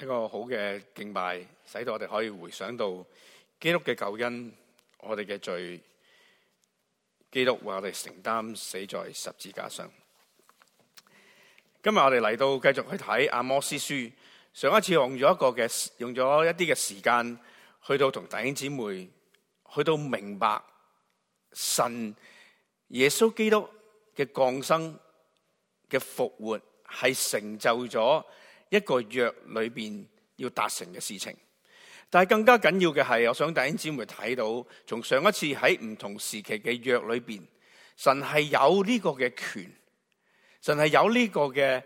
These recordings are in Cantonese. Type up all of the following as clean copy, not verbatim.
一個好嘅敬拜，使到我哋可以回想到基督嘅救恩，我哋嘅罪，基督為我哋承擔死在十字架上。今日我哋嚟到繼續去睇阿摩司書。上一次用咗一啲嘅時間，去到同弟兄姊妹去到明白神耶穌基督嘅降生嘅復活係成就咗一個約裏邊要達成嘅事情。但係更加緊要嘅係，我想弟兄姊妹睇到，從上一次喺唔同時期嘅約裏邊，神係有呢個嘅權，神係有呢個嘅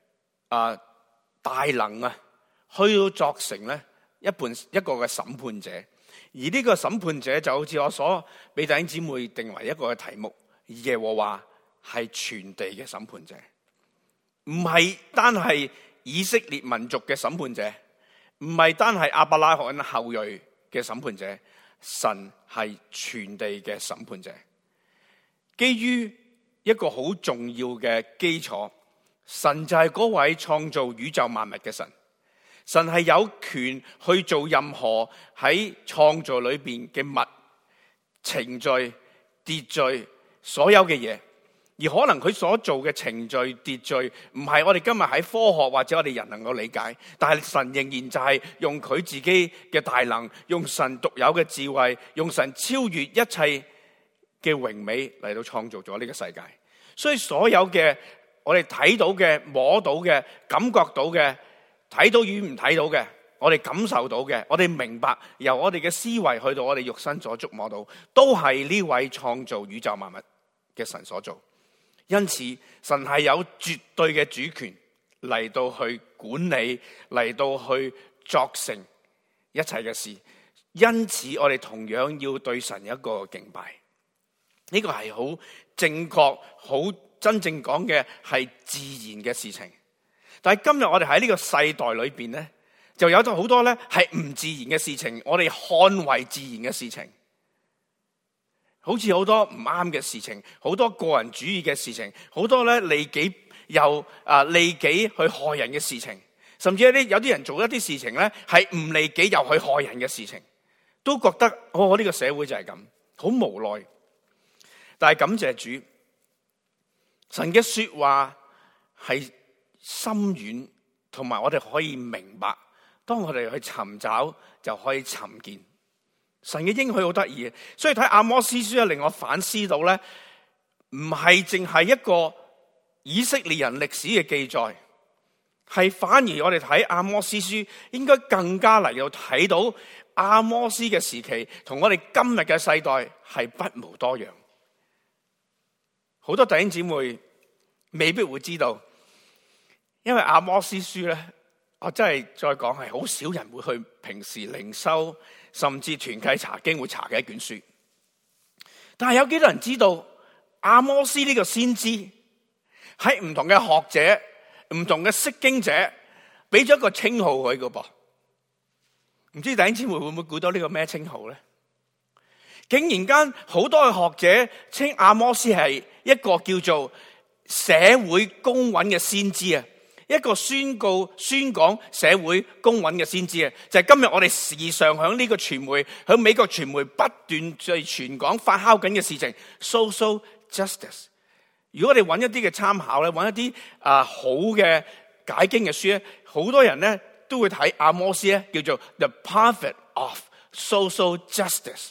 大能啊，去到作成咧一個嘅審判者。而呢個審判者就好似我所俾弟兄姊妹定為一個嘅題目，耶和華係全地嘅審判者，唔係單係以色列民族嘅審判者，唔係單係亞伯拉罕後裔嘅審判者，神係全地嘅審判者。基於一個好重要嘅基礎，神就係嗰位創造宇宙萬物嘅神。神係有權去做任何喺創造裏邊嘅物、程序、秩序，所有嘅嘢。而可能佢所做嘅程序、秩序，唔係我哋今日喺科學或者我哋人能夠理解，但係神仍然就係用佢自己嘅大能，用神獨有嘅智慧，用神超越一切嘅榮美嚟到創造咗呢個世界。所以所有嘅我哋睇到嘅、摸到嘅、感覺到嘅、睇到與唔睇到嘅，我哋感受到嘅，我哋明白，由我哋嘅思維去到我哋肉身所觸摸到，都係呢位創造宇宙萬物嘅神所做。因此神係有絕對嘅主權嚟到去管理，嚟到去作成一切嘅事。因此我哋同樣要對神一個敬拜。呢個係好正確、好真正講嘅係自然嘅事情。但係今日我哋喺呢個世代裏邊咧，就有咗好多咧係唔自然嘅事情，我哋看為自然嘅事情，好似好多唔啱嘅事情，好多個人主義嘅事情，好多咧利己去害人嘅事情，甚至有啲人做一啲事情咧係唔利己又去害人嘅事情，都覺得呢個社會就係咁，好無奈。但係感謝主，神嘅說話係深遠，同埋我哋可以明白。當我哋去尋找，就可以尋見神嘅應許，好得意嘅。所以睇阿摩司書令我反思到咧，唔係淨係一個以色列人歷史嘅記載，係反而我哋睇阿摩司書應該更加嚟到睇到阿摩司嘅時期同我哋今日嘅世代係不無多樣。好多弟兄姊妹未必會知道，因為阿摩司書咧，我真係再講係好少人會去平時靈修甚至團契查經會查嘅一卷書。但係有幾多人知道阿摩司呢個先知喺唔同嘅學者、唔同嘅釋經者俾咗一個稱號佢㗎噃？唔知弟兄姊妹會唔會估到呢個咩稱號咧？竟然間好多嘅學者稱阿摩司係一個叫做社會公允嘅先知啊，一個宣講社會公允嘅先知啊，就係今日我哋時常響呢個傳媒，響美國傳媒不斷在傳講發酵緊嘅事情 ，social justice。如果我哋揾一啲嘅參考咧，揾一啲好嘅解經嘅書咧，好多人咧都會睇阿摩司咧，叫做 The Prophet of Social Justice。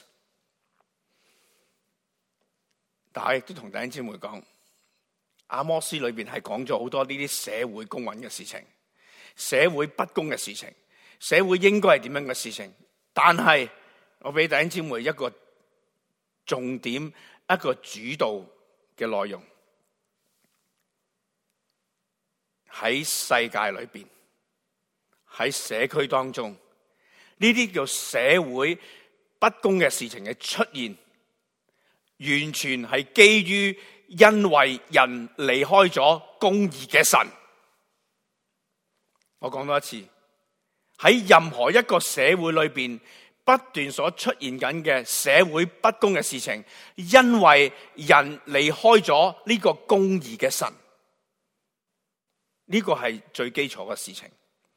但係亦都同弟兄姊妹講，阿摩司裏邊係講咗好多呢啲社會公允嘅事情，社會不公嘅事情，社會應該係點樣嘅事情。但係我俾弟兄姊妹一個重點，一個主導嘅內容，喺世界裏邊，喺社區當中，呢啲叫社會不公嘅事情嘅出現，完全係基於因為人離開咗公義嘅神。我講多一次，喺任何一個社會裏邊不斷所出現緊嘅社會不公嘅事情，因為人離開咗呢個公義嘅神，呢個係最基礎嘅事情。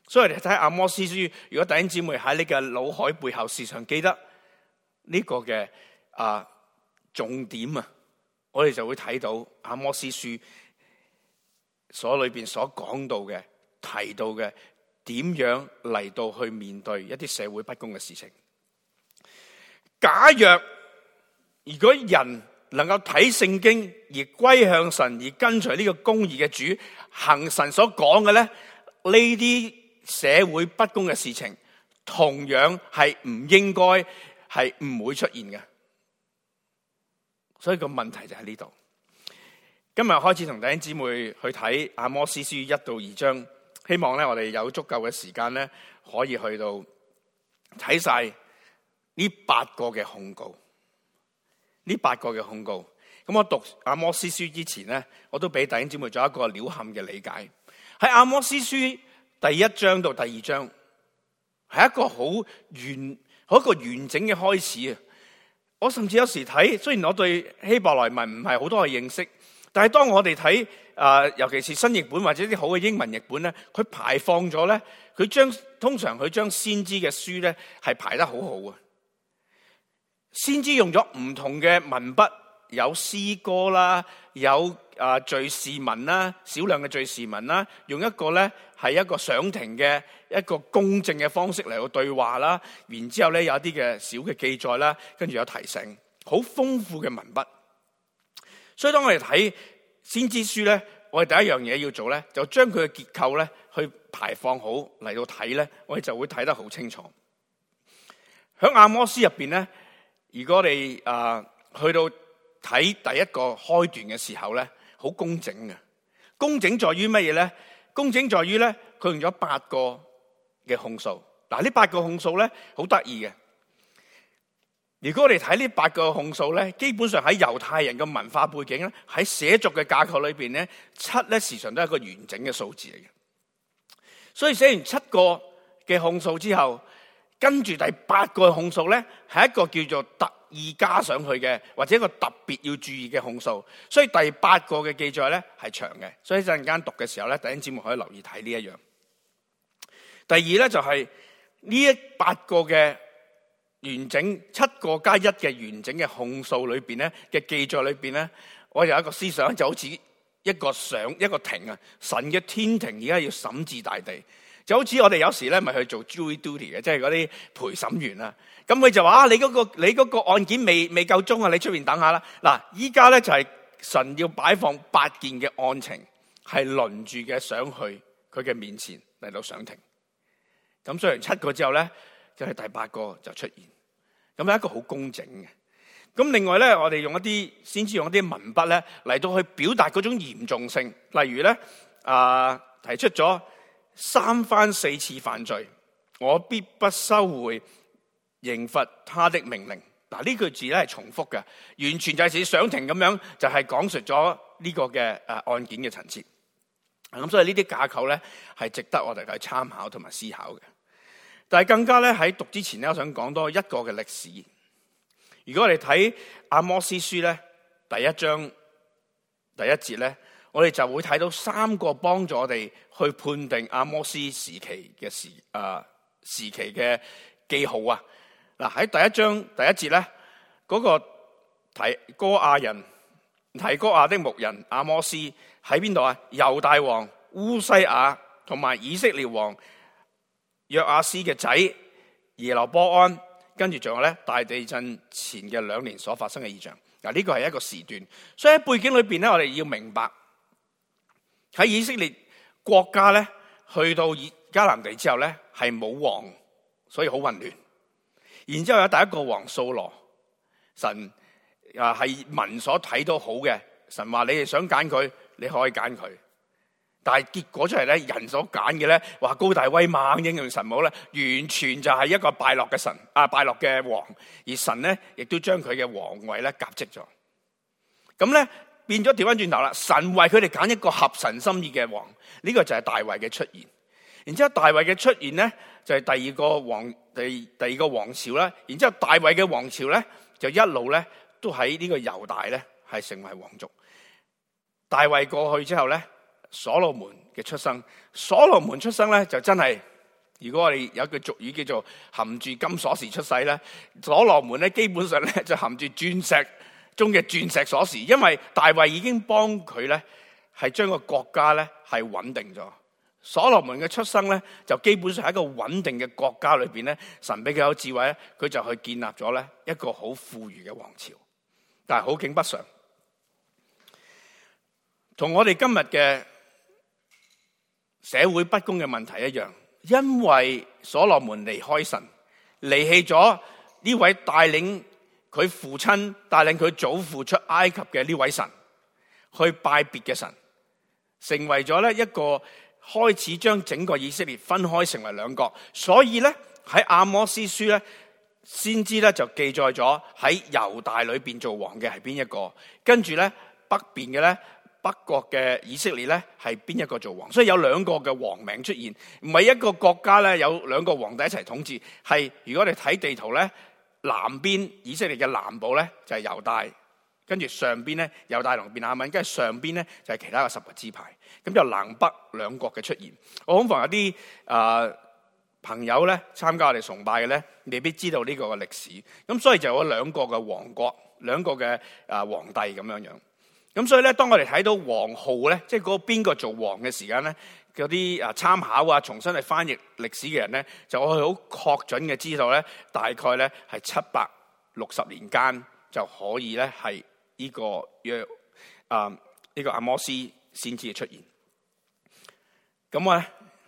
所以我哋睇阿摩司書，如果弟兄姊妹喺你嘅腦海背後時常記得呢個嘅重點啊，我哋就會睇到阿摩司書所裏邊所講到嘅、提到嘅，點樣嚟到去面對一啲社會不公嘅事情。假若如果人能夠睇聖經而歸向神，而跟隨呢個公義嘅主，行神所講嘅咧，呢啲社會不公嘅事情同樣係唔應該，係唔會出現嘅。所以個問題就喺呢度。今日開始同弟兄姊妹去睇阿摩司書1到2章，希望咧我哋有足夠嘅時間咧，可以去到睇晒呢8個嘅控告。呢8個嘅控告，咁我讀阿摩司書之前咧，我都俾弟兄姊妹做一個鳥瞰嘅理解。喺阿摩司書第1章到第2章，係一個好完整嘅開始啊！我甚至有時睇，雖然我對希伯來文唔係好多嘅認識，但係當我哋睇尤其是新譯本或者啲好嘅英文譯本咧，佢排放咗咧，通常佢將先知嘅書咧係排得好好啊！先知用咗唔同嘅文筆，有詩歌啦，有敘事文啦，少量嘅敘事文啦，用一個咧係一個上庭嘅一個公正嘅方式嚟到對話啦，然之後咧有一啲嘅小嘅記載啦，跟住有提醒，好豐富嘅文筆。所以當我哋睇先知書咧，我哋第一樣嘢要做咧，就將佢嘅結構咧去排放好嚟到睇咧，我哋就會睇得好清楚。喺阿摩司入邊咧，如果我哋去到睇第一個開段嘅時候咧，好工整嘅。工整在於乜嘢咧？工整在於咧，佢用咗8個嘅控訴。嗱，呢8個控訴咧，好得意嘅。如果我哋睇呢8個控訴咧，基本上喺猶太人嘅文化背景咧，喺寫作嘅架構裏邊咧，7咧時常都係一個完整嘅數字嚟嘅。所以寫完7個嘅控訴之後，跟住第8個控訴咧，係一個叫做特意加上去嘅，或者一個特別要注意嘅控訴。所以第8個嘅記載咧係長嘅，所以陣間讀嘅時候咧，弟兄姊妹可以留意睇呢一樣。第二咧就係呢8個嘅完整7個加1嘅完整嘅控訴裏邊咧嘅記載裏邊咧，我有一個思想就好似一個庭啊，神嘅天庭而家要審治大地。就好似我哋有時咧，咪去做 jury duty 嘅，即係嗰啲陪審員啦。咁佢就話：你嗰個案件未夠鐘啊，你出邊等下啦。嗱，依家咧就係神要擺放8件嘅案情，係輪住嘅上去佢嘅面前嚟到上庭。咁上完7個之後咧，就係第8個就出現。咁係一個好工整嘅。咁另外咧，我哋先用一啲文筆咧嚟到去表達嗰種嚴重性。例如咧，提出咗3番4次犯罪，我必不收回刑罰他的命令。嗱，呢句字咧係重複嘅，完全就係似上庭咁樣，就係講述咗呢個嘅案件嘅陳設。咁所以呢啲架構咧係值得我哋去參考同埋思考嘅。但係更加咧喺讀之前咧，我想講多一個嘅歷史。如果我哋睇阿摩司書咧第1章第1節咧，我哋就會睇到3個幫助我哋去判定阿摩司時期嘅時期嘅記號啊！嗱，喺第1章第1節咧，嗰個提哥亞的牧人阿摩司喺邊度啊？猶大王烏西雅同埋以色列王約亞斯嘅仔耶羅波安，跟住仲有咧大地震前嘅2年所發生嘅異象。嗱，呢個係一個時段，所以喺背景裏邊咧，我哋要明白喺以色列國家咧去到迦南地之後咧係冇王，所以好混亂。然之後有第一個王掃羅，神係民所睇到好嘅，神話你哋想揀佢，你可以揀佢。但係結果出嚟咧，人所揀嘅咧話高大威猛英勇神武咧，完全就係一個敗落嘅神敗落嘅王，而神咧亦都將佢嘅皇位咧革職咗。咁咧變咗調翻轉頭啦，神為佢哋揀一個合神心意嘅王，呢個就係大衛嘅出現。然之後大衛嘅出現咧就係第二個王朝啦。然之後大衛嘅王朝咧就一路咧都喺呢個猶大咧係成為王族。大衛過去之後咧，所羅門嘅出生，所羅門出生咧就真係如果我哋有句俗語叫做含住金鎖匙出世咧，所羅門咧基本上咧就含住鑽石中嘅鑽石鎖匙，因為大衛已經幫佢咧係將個國家咧係穩定咗。所羅門嘅出生咧就基本上喺一個穩定嘅國家裏邊咧，神俾佢有智慧咧，佢就去建立咗咧一個好富裕嘅王朝。但係好景不常，同我哋今日嘅社會不公嘅問題一樣，因為所羅門離開神，離棄咗呢位帶領佢父親、帶領佢祖父出埃及嘅呢位神，去拜別嘅神，成為咗咧一個開始將整個以色列分開成為兩國。所以咧喺阿摩司書咧，先知咧就記載咗喺猶大裏邊做王嘅係邊一個，跟住咧北邊嘅咧北國嘅以色列咧係邊一個做王。所以有兩個嘅王名出現，唔係一個國家咧有兩個皇帝一齊統治，係如果你睇地圖咧，南邊以色列嘅南部咧就係猶大，跟住上邊咧猶大同便雅憫，跟住上邊咧就係其他嘅10個支派，咁就南北兩國嘅出現。我恐防有啲朋友咧參加我哋崇拜嘅咧，未必知道呢個嘅歷史，咁所以就有兩個嘅王國，兩個嘅皇帝咁樣樣。咁所以咧，當我哋睇到王號咧，即係嗰邊個做王嘅時間咧，嗰啲參考啊，重新去翻譯歷史嘅人咧，就可以好確準嘅知道咧，大概咧係760年間就可以咧係呢個呢個阿摩司先至出現。咁我咧，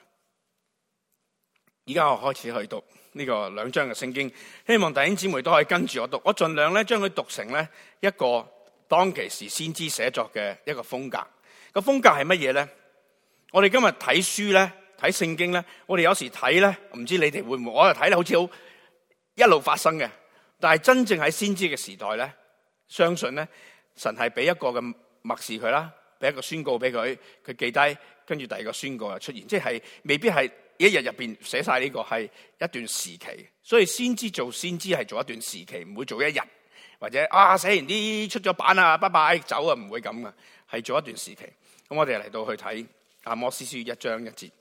而家我開始去讀呢個2章嘅聖經，希望弟兄姊妹都可以跟住我讀，我盡量咧將佢讀成咧一個當其時先知寫作嘅一個風格。個風格係乜嘢咧？我哋今日睇書咧，睇聖經咧，我哋有時睇咧，唔知你哋會唔會？我就睇咧，好似好一路發生嘅。但係真正喺先知嘅時代咧，相信咧，神係俾一個嘅默示佢啦，俾一個宣告俾佢，佢記低，跟住第二個宣告又出現，即係未必係一日入邊寫晒呢個，係一段時期。所以先知做先知係做一段時期，唔會做一日。或者寫完啲出咗版啊，拜拜走啊，唔會咁噶，係做一段時期。咁我哋嚟到去睇阿摩司書1章1節。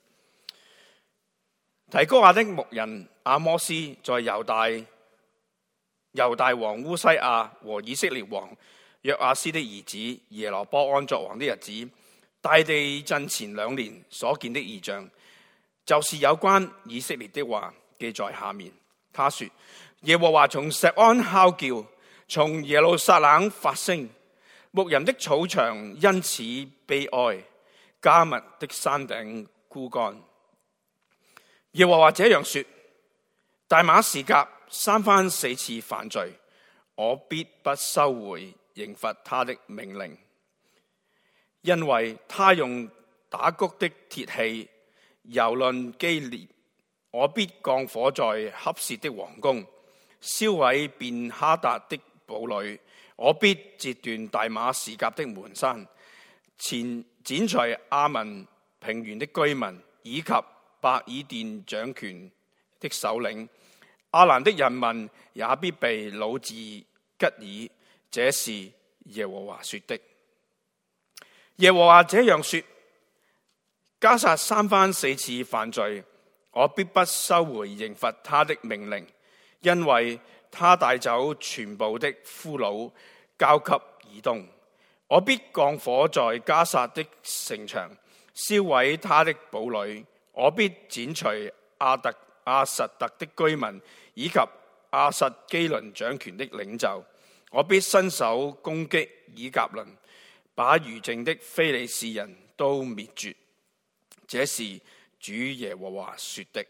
提哥亞的牧人阿摩司在猶大王烏西亞和以色列王約亞斯的兒子耶羅波安作王的日子，大地震前2年所見的異象，就是有關以色列的話，記在下面。他說：耶和華從錫安吼叫，從耶路撒冷發聲，牧人的草場因此悲哀，迦密的山頂枯乾。耶和華這樣說：大馬士革3番4次犯罪，我必不收回刑罰他的命令，因為他用打谷的鐵器蹂躪基列，我必降火在恰薛的王宮，燒毀便哈達的堡壘，我必截斷大馬士革的門山，剪除亞文平原的居民，以及伯爾甸掌權的首領，亞蘭的人民也必被擄至吉爾。這是耶和華說的。耶和華這樣說：迦薩3番4次犯罪，我必不收回刑罰他的命令，因為他帶走全部的俘虜，交給以東。我必降火在迦薩的城牆，燒毀他的堡壘。我必剪除亞實突的居民，以及亞實基倫掌權的領袖。我必伸手攻擊以革倫，把餘剩的非利士人都滅絕。這是主耶和華說的。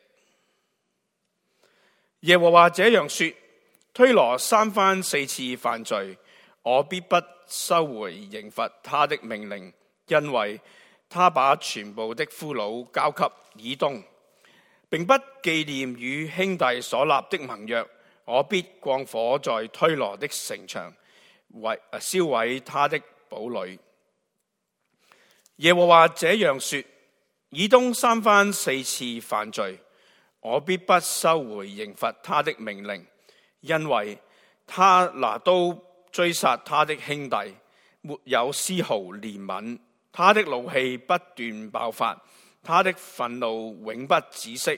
耶和華這樣說：推羅3番4次犯罪，我必不收回刑罰他的命令，因為他把全部的俘虜交給以東，並不紀念與兄弟所立的盟約。我必降火在推羅的城牆，燒毀他的堡壘。耶和華這樣說：以東3番4次犯罪，我必不收回刑罰他的命令，因為他拿刀追殺他的兄弟，沒有絲毫憐憫。他的怒氣不斷爆發，他的憤怒永不止息。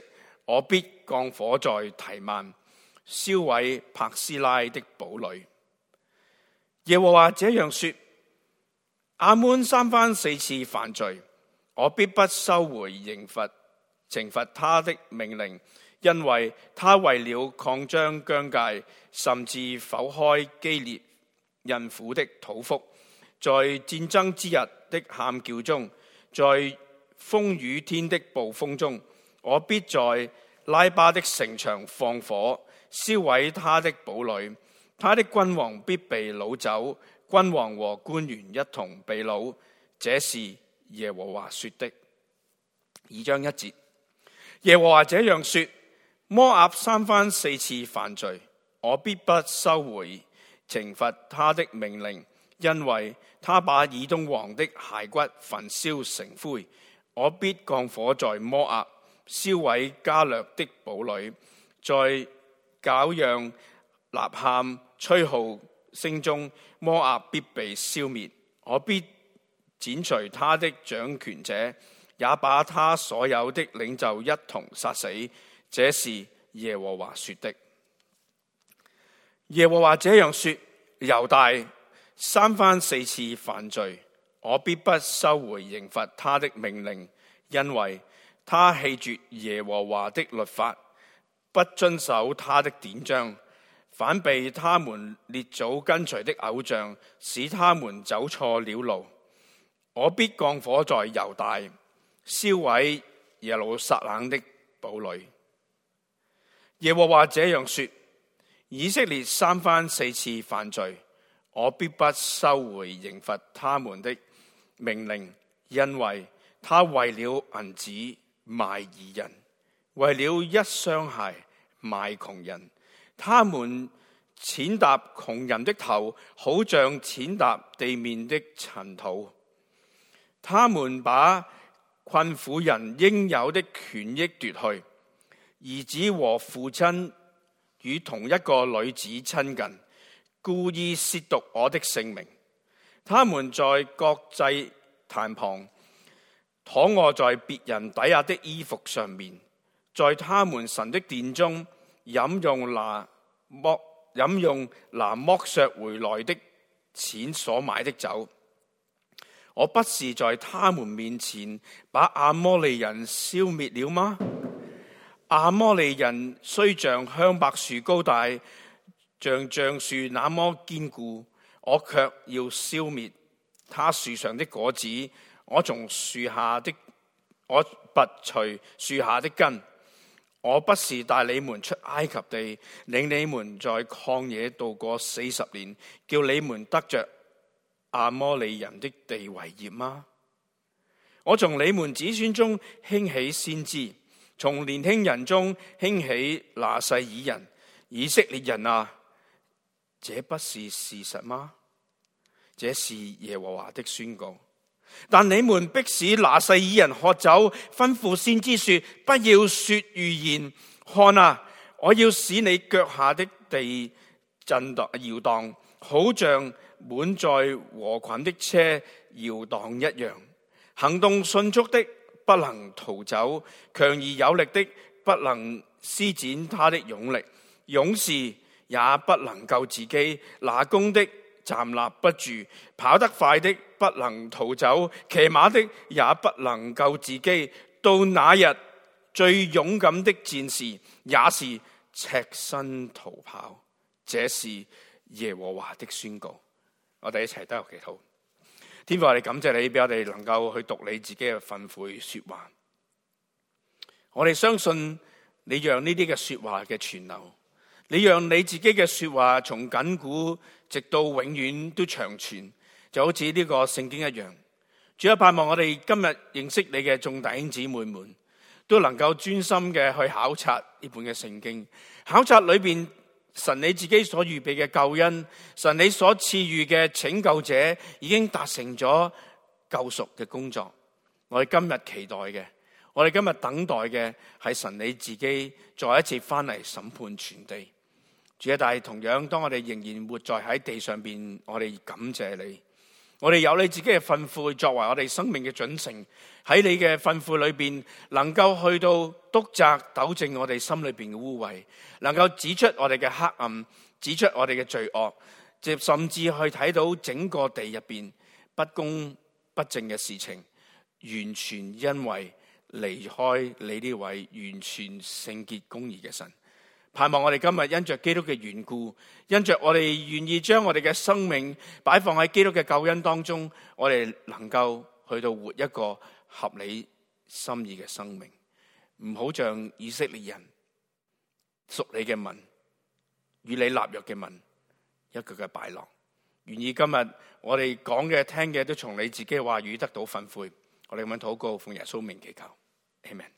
我必降火在提曼，燒毀柏斯拉的堡壘。耶和華這樣說：亞捫三番四次犯罪，我必不收回懲罰他的命令，因為他為了擴張疆界，甚至剖開基列孕婦的肚腹，在戰爭之日的喊叫中，在風雨天的暴風中，我必在拉巴的城牆放火，燒毀他的堡壘。他的君王必被擄走，君王和官員一同被擄。這是耶和華說的。2章1節，耶和華這樣說：摩押三番四次犯罪，我必不收回懲罰他的命令，因為他把以東王的骸骨焚燒成灰。我必降火在摩押，燒毀加略的堡壘，在絞讓、吶喊、吹號聲中，摩押必被消滅。我必剪除他的掌權者，也把他所有的領袖一同殺死。這是耶和華說的。耶和華這樣說：猶大三番四次犯罪，我必不收回刑罰他的命令，因為他棄絕耶和華的律法，不遵守他的典章，反被他們列祖跟隨的偶像，使他們走錯了路。我必降火在猶大，燒毀耶路撒冷的堡壘。耶和華這樣說：以色列三番四次犯罪，我必不收回刑罰他們的命令，因為他為了銀子賣義人，為了一雙鞋賣窮人。他們踐踏窮人的頭，好像踐踏地面的塵土。他們把困苦人應有的權益奪去，兒子和父親與同一個女子親近，故意褻瀆我的聖名。他們在國祭壇旁躺臥在別人抵押的衣服上面，在他們神的殿中飲用拿剝削回來的錢所買的酒。我不是在他們面前把亞摩利人消滅了嗎？亞摩利人雖像香柏樹高大，像橡樹那麼堅固，我卻要消滅他樹上的果子。我拔除樹下的根。我不是帶你們出埃及地，領你們在曠野度過40年，叫你們得着亞摩利人的地為業嗎？我從你們子孫中興起先知，從年輕人中興起拿細耳人。以色列人啊，這不是事實嗎？這是耶和華的宣告。但你們迫使拿細耳人喝酒，吩咐先知說：不要說預言。看啊，我要使你腳下的地震盪搖盪，好像滿載禾捆的車搖盪一樣。行動迅速的不能逃走，強而有力的不能施展他的勇力。勇士也不能救自己，拿弓的站立不住，跑得快的不能逃走，騎馬的也不能救自己。到那日，最勇敢的戰士也是赤身逃跑。這是耶和華的宣告。我哋一齊低頭祈禱。天父，我哋感謝你，俾我哋能夠去讀你自己嘅訓誨說話。我哋相信你讓呢啲嘅說話嘅傳流，你讓你自己嘅說話從亙古直到永遠都長存，就好似呢個聖經一樣。主啊，盼望我哋今日認識你嘅眾弟兄姊妹們，都能夠專心嘅去考察呢本嘅聖經，考察裏邊神你自己所預備嘅救恩，神你所賜予嘅拯救者已經達成咗救贖嘅工作。我哋今日期待嘅，我哋今日等待嘅係神你自己再一次翻嚟審判全地。主啊，但係同樣當我哋仍然活在喺地上邊，我哋感謝你， 我哋有你自己嘅訓誨作為我哋生命嘅準繩，喺你嘅訓誨裏邊，能夠去到督責糾正我哋心裏邊嘅污穢，能夠指出我哋嘅黑暗，指出我哋嘅罪惡，甚至去睇到整個地入邊不公不正嘅事情，完全因為離開你呢位完全聖潔公義嘅神。盼望我哋今日因着基督嘅緣故，因着我哋願意將我哋嘅生命擺放喺基督嘅救恩當中，我哋能夠去到活一個合理心意嘅生命，唔好像以色列人屬你嘅民，與你立約嘅民一個嘅敗落。願意今日我哋講嘅聽嘅都從你自己嘅話語得到訓誨。我哋咁樣禱告，奉耶穌名祈求，阿們。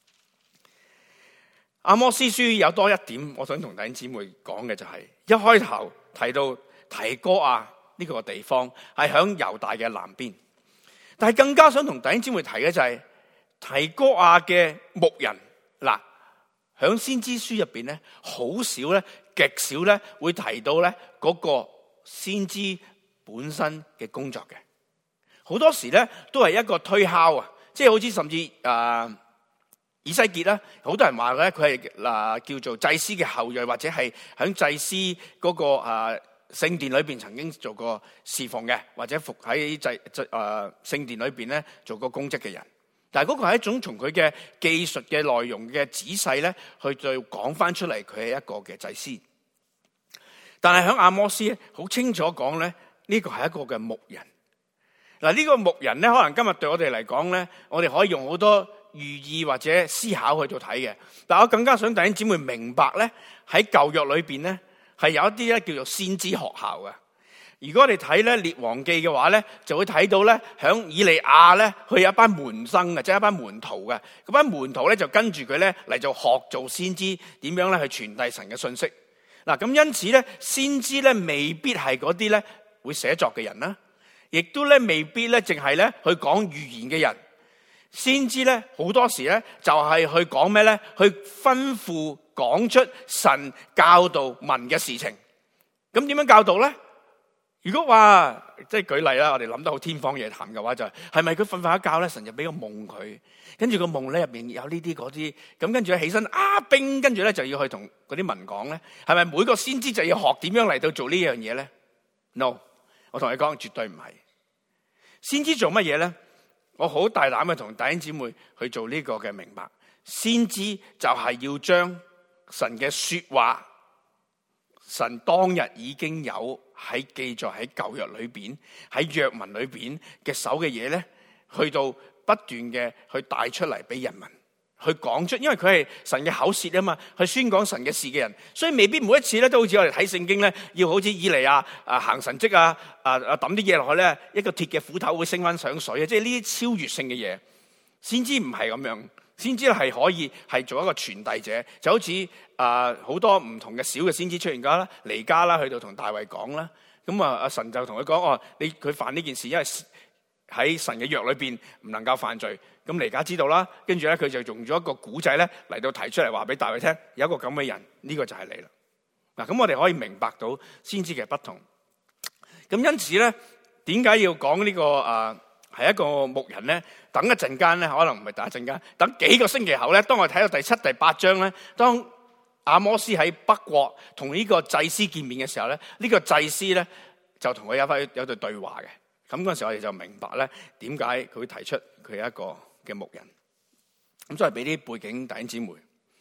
阿摩司書有多一點，我想同弟兄姊妹講嘅就係，一開頭提到提哥亞呢個地方係響猶大嘅南邊，但係更加想同弟兄姊妹提嘅就係提哥亞嘅牧人。嗱，響先知書入邊咧，好少咧，極少咧會提到咧嗰個先知本身嘅工作嘅，好多時咧都係一個推敲啊，即係好似甚至以西結啦，好多人話咧佢係叫做祭司嘅後裔，或者係喺祭司嗰個聖殿裏邊曾經做過侍奉嘅，或者服喺聖殿裏邊咧做過公職嘅人。但係嗰個係一種從佢嘅技術嘅內容嘅仔細咧，去再講翻出嚟，佢係一個嘅祭司。但係喺阿摩司好清楚講咧，呢個係一個嘅牧人。嗱，呢個牧人咧，可能今日對我哋嚟講咧，我哋可以用好多寓意或者思考去做睇嘅，但我更加想弟兄姊妹明白咧，喺舊約裏邊咧係有一啲咧叫做先知學校嘅。如果我哋睇咧列王記嘅話咧，就會睇到咧響以利亞咧，佢有一班門生嘅，即係一班門徒嘅。嗰班門徒咧就跟住佢咧嚟做學做先知，點樣咧去傳遞神嘅信息。嗱，咁因此咧，先知咧未必係嗰啲咧會寫作嘅人啦，亦都咧未必咧淨係咧去講預言嘅人。先知咧好多時咧就係去講咩咧？去吩咐講出神教導民嘅事情。咁點樣教導咧？如果話即係舉例啦，我哋諗得好天方夜譚嘅話，就係咪佢瞓瞓一覺咧，神就俾個夢佢，跟住個夢咧入邊有呢啲嗰啲，咁跟住起身兵，跟住咧就要去同嗰啲民講咧，係咪每個先知就要學點樣嚟到做呢樣嘢咧 ？No， 我同你講絕對唔係。先知做乜嘢咧？我好大膽嘅同弟兄姊妹去做呢個嘅明白，先知就係要將神嘅說話，神當日已經有喺記載喺舊約裏邊，喺約文裏邊嘅手嘅嘢咧，去到不斷嘅去帶出嚟俾人民去講出，因為佢係神嘅口舌啊嘛，去宣講神嘅事嘅人，所以未必每一次咧都好似我哋睇聖經咧，要好似以利亞行神蹟抌啲嘢落去咧，一個鐵嘅斧頭會升翻上水啊！即係呢啲超越性嘅嘢，先知唔係咁樣，先知係可以係做一個傳遞者，就好似好多唔同嘅小嘅先知出現咗啦，彌迦啦去到同大衛講啦，咁阿神就同佢講佢犯呢件事，因為喺神嘅約裏邊唔能夠犯罪。咁彌迦知道啦，跟住咧佢就用咗一個古仔咧嚟到提出嚟話俾大衛聽，有一個咁嘅人，呢個就係你啦。嗱，咁我哋可以明白到先知嘅不同。咁因此咧，點解要講呢個係一個牧人咧？等一陣間咧，可能唔係等一陣間，等幾個星期後咧，當我睇到第7、第8章咧，當阿摩司喺北國同呢個祭司見面嘅時候咧，呢個祭司咧就同佢有對對話嘅。咁嗰陣時我哋就明白咧，點解佢會提出佢係一個嘅牧人。咁所以俾啲背景弟兄姊妹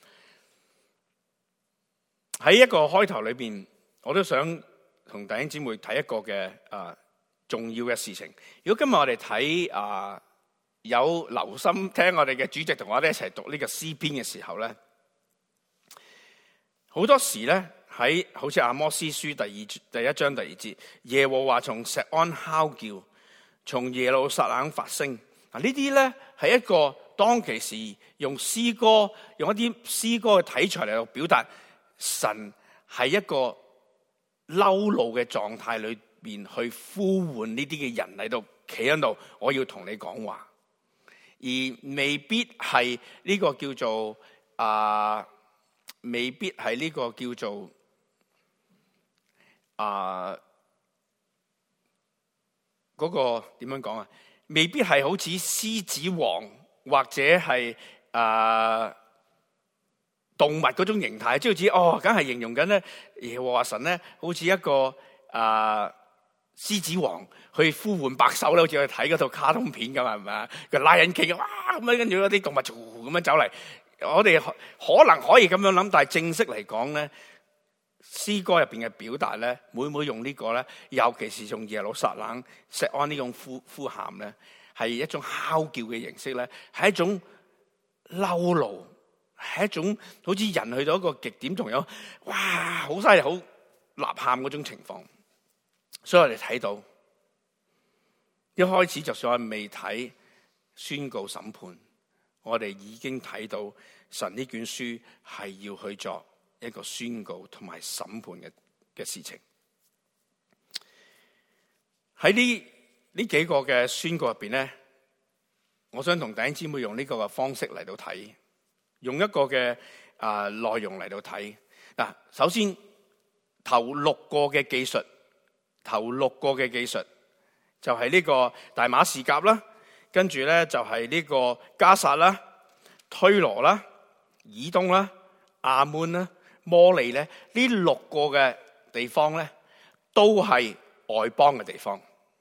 喺一個開頭裏邊，我都想同弟兄姊妹睇一個嘅重要嘅事情。如果今日我哋睇有留心聽我哋嘅主席同我哋一齊讀呢個詩篇嘅時候咧，好多時咧喺好似阿摩司書第1章第2節，耶和華從錫安哮叫，從耶路撒冷發聲。嗱，呢啲咧係一個當其時用詩歌，用一啲詩歌嘅題材嚟到表達神係一個嬲怒嘅狀態裏邊去呼喚呢啲嘅人嚟到企喺度，我要同你講話，而未必係呢個叫做未必係呢個叫做嗰個點樣講啊？未必係好似獅子王或者係動物嗰種形態，即係好似梗係形容緊咧耶和華神咧，好似一個獅子王去呼喚百獸咧，好似我哋睇嗰套卡通片咁，係咪啊？個拉人企哇咁樣，跟住嗰啲動物咁樣走嚟，我哋可能可以咁樣諗，但係正式嚟講咧，詩歌入邊嘅表達咧，每用呢個咧，尤其是用耶路撒冷錫安呢種呼喊咧，係一種嚎叫嘅形式咧，係一種嬲怒，係一種好似人去到一個極點，仲有哇好犀利、好吶喊嗰種情況。所以我哋睇到一開始，就算我未睇宣告審判，我哋已經睇到神呢卷書係要去作一個宣告同埋審判嘅事情。喺呢幾個嘅宣告入邊咧，我想同弟兄姊妹用呢個嘅方式嚟到睇，用一個嘅內容嚟到睇。嗱，首先頭六個嘅記述就係呢個大馬士革啦，跟住咧就係呢個迦薩啦、推羅啦、以東啦、亞捫啦、摩利咧，呢六個嘅地方咧，都係外邦嘅地方，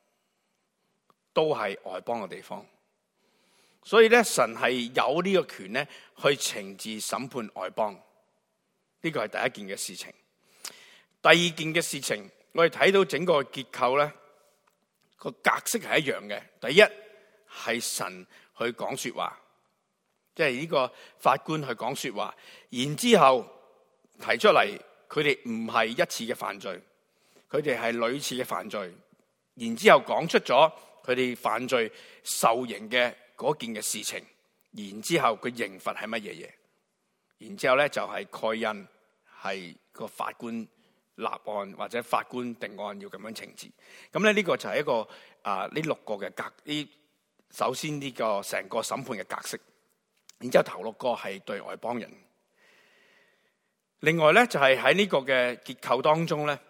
所以咧神係有呢個權咧去懲治審判外邦，呢個係第一件嘅事情。第二件嘅事情，我哋睇到整個結構咧，個格式係一樣嘅。第一係神去講說話，即係呢個法官去講說話，然之後提出嚟，佢哋唔係一次嘅犯罪，佢哋係屢次嘅犯罪，然之後講出咗佢哋犯罪受刑嘅嗰件嘅事情，然之後佢刑罰係乜嘢嘢，然之後咧就係蓋印，係個法官立案或者法官定案要咁樣懲治。咁咧呢個就係一個呢六個嘅首先呢個成個審判嘅格式，然之後頭六個係對外邦人。另外咧就係喺呢個嘅結構當中咧，